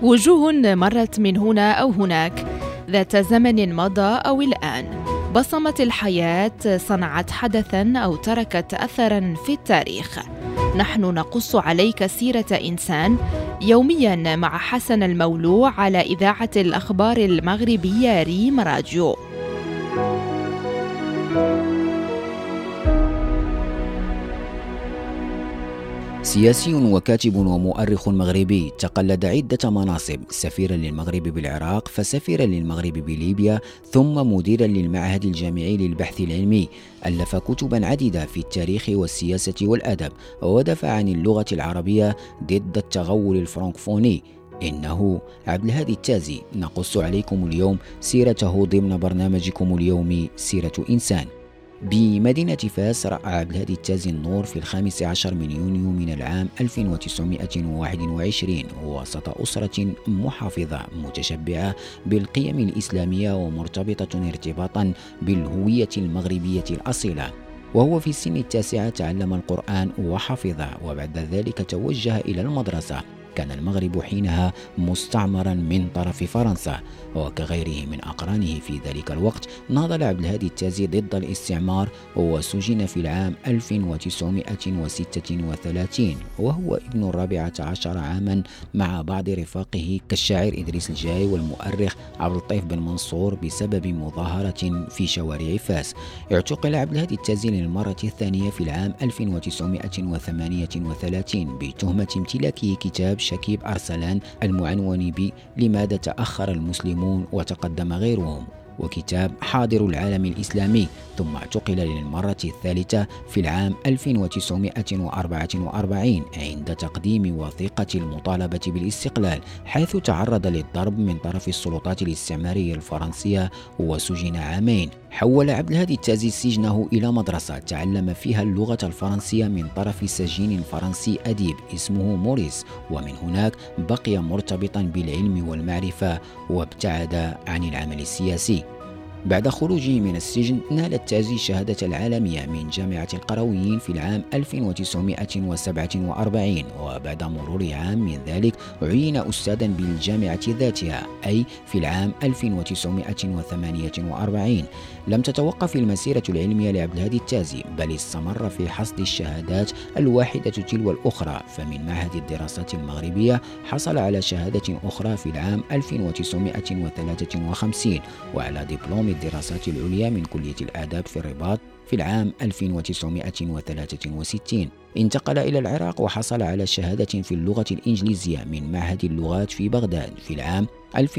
وجوه مرت من هنا أو هناك، ذات زمن مضى أو الآن، بصمت الحياة، صنعت حدثاً أو تركت أثراً في التاريخ. نحن نقص عليك سيرة إنسان يومياً مع حسن المولوع على إذاعة الأخبار المغربية ريم راديو. سياسي وكاتب ومؤرخ مغربي، تقلد عدة مناصب: سفيرا للمغرب بالعراق، فسفيرا للمغرب بليبيا، ثم مديرا للمعهد الجامعي للبحث العلمي. ألف كتبا عديدة في التاريخ والسياسة والأدب، ودافع عن اللغة العربية ضد التغول الفرنكفوني. إنه عبد الهادي التازي، نقص عليكم اليوم سيرته ضمن برنامجكم اليومي سيرة إنسان. بمدينة فاس رأى عبد الهادي التازي النور في 15 من يونيو من العام 1921 وسط أسرة محافظة متشبعة بالقيم الإسلامية ومرتبطة ارتباطا بالهوية المغربية الأصيلة. وهو في سن 9 تعلم القرآن وحفظه، وبعد ذلك توجه إلى المدرسة. كان المغرب حينها مستعمرا من طرف فرنسا، وكغيره من أقرانه في ذلك الوقت ناضل عبد الهادي التازي ضد الاستعمار، وسجن في العام 1936 وهو ابن 14 عاما مع بعض رفاقه كالشاعر إدريس الجاي والمؤرخ عبد اللطيف بن منصور بسبب مظاهرة في شوارع فاس. اعتقل عبد الهادي التازي للمرة الثانية في العام 1938 بتهمة امتلاكه كتاب شكيب أرسلان المعنون ب لماذا تأخر المسلمون وتقدم غيرهم، وكتاب حاضر العالم الإسلامي. ثم اعتقل للمرة الثالثة في العام 1944 عند تقديم وثيقة المطالبة بالاستقلال، حيث تعرض للضرب من طرف السلطات الاستعمارية الفرنسية وسجن عامين. حول عبد الهادي التازي سجنه إلى مدرسة تعلم فيها اللغة الفرنسية من طرف سجين فرنسي أديب اسمه موريس، ومن هناك بقي مرتبطا بالعلم والمعرفة وابتعد عن العمل السياسي. بعد خروجه من السجن نال التازي شهادة العالمية من جامعة القرويين في العام 1947، وبعد مرور عام من ذلك عين أستاذا بالجامعة ذاتها، أي في العام 1948. لم تتوقف المسيرة العلمية لعبد الهادي التازي، بل استمر في حصد الشهادات الواحدة تلو الأخرى. فمن معهد الدراسات المغربية حصل على شهادة أخرى في العام 1953، وعلى دبلوم الدراسات العليا من كلية الآداب في الرباط في العام 1963. انتقل إلى العراق وحصل على شهادة في اللغة الإنجليزية من معهد اللغات في بغداد في العام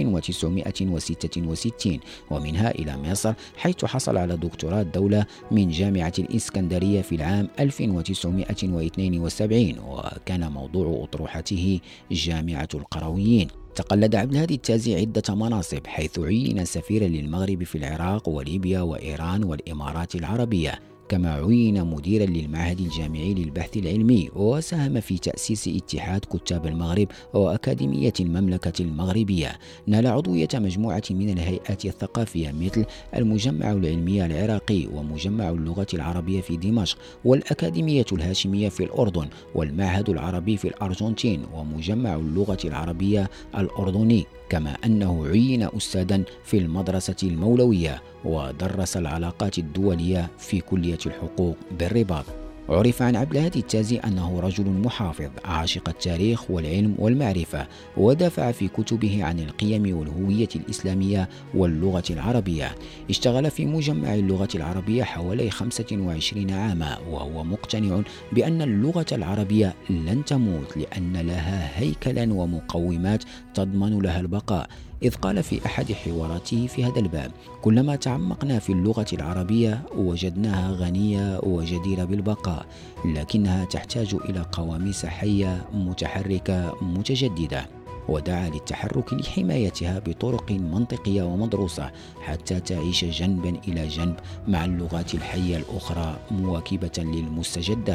1966، ومنها إلى مصر حيث حصل على دكتوراه الدولة من جامعة الإسكندرية في العام 1972، وكان موضوع أطروحته جامعة القرويين. تقلد عبد الهادي التازي عدة مناصب، حيث عين سفيرا للمغرب في العراق وليبيا وإيران والإمارات العربية، كما عين مديرا للمعهد الجامعي للبحث العلمي، وساهم في تأسيس اتحاد كتاب المغرب وأكاديمية المملكة المغربية. نال عضوية مجموعة من الهيئات الثقافية مثل المجمع العلمي العراقي ومجمع اللغة العربية في دمشق والأكاديمية الهاشمية في الأردن والمعهد العربي في الأرجنتين ومجمع اللغة العربية الأردني، كما أنه عين أستاذا في المدرسة المولوية ودرس العلاقات الدولية في كلية الحقوق بالرباط. عرف عن عبد الهادي التازي أنه رجل محافظ عاشق التاريخ والعلم والمعرفة، ودافع في كتبه عن القيم والهوية الإسلامية واللغة العربية. اشتغل في مجمع اللغة العربية حوالي 25 عاما، وهو مقتنع بأن اللغة العربية لن تموت لأن لها هيكلا ومقومات تضمن لها البقاء، إذ قال في أحد حواراته في هذا الباب: كلما تعمقنا في اللغة العربية وجدناها غنية وجديرة بالبقاء، لكنها تحتاج إلى قواميس حية متحركة متجددة. ودعا للتحرك لحمايتها بطرق منطقية ومدروسة حتى تعيش جنبا إلى جنب مع اللغات الحية الأخرى مواكبة للمستجدات.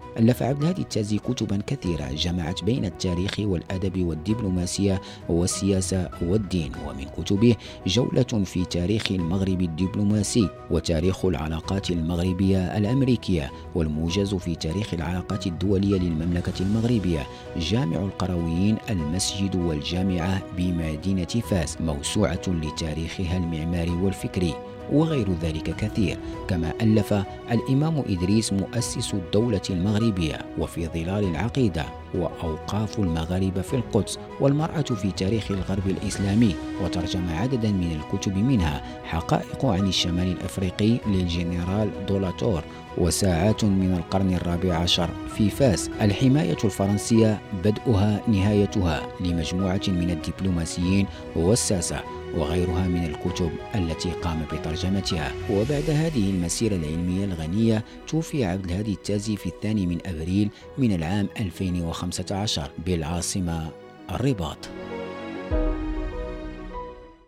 ألف عبد الهادي التازي كتبا كثيرة جمعت بين التاريخ والأدب والدبلوماسية والسياسة والدين، ومن كتبه جولة في تاريخ المغرب الدبلوماسي وتاريخ العلاقات المغربية الأمريكية، والموجز في تاريخ العلاقات الدولية للمملكة المغربية، جامع القرويين، المسجد والجامعة بمدينة فاس، موسوعة لتاريخها المعماري والفكري، وغير ذلك كثير. كما ألف الإمام إدريس مؤسس الدولة المغربية وفي ظلال العقيدة، وأوقاف المغاربة في القدس، والمرأة في تاريخ الغرب الإسلامي، وترجم عددا من الكتب منها حقائق عن الشمال الأفريقي للجنرال دولاتور، وساعات من القرن الرابع عشر في فاس، الحماية الفرنسية بدءها نهايتها لمجموعة من الدبلوماسيين والساسة، وغيرها من الكتب التي قام بترجمتها. وبعد هذه المسيرة العلمية الغنية توفي عبد الهادي التازي في 2 من أبريل من العام 2015 بالعاصمة الرباط.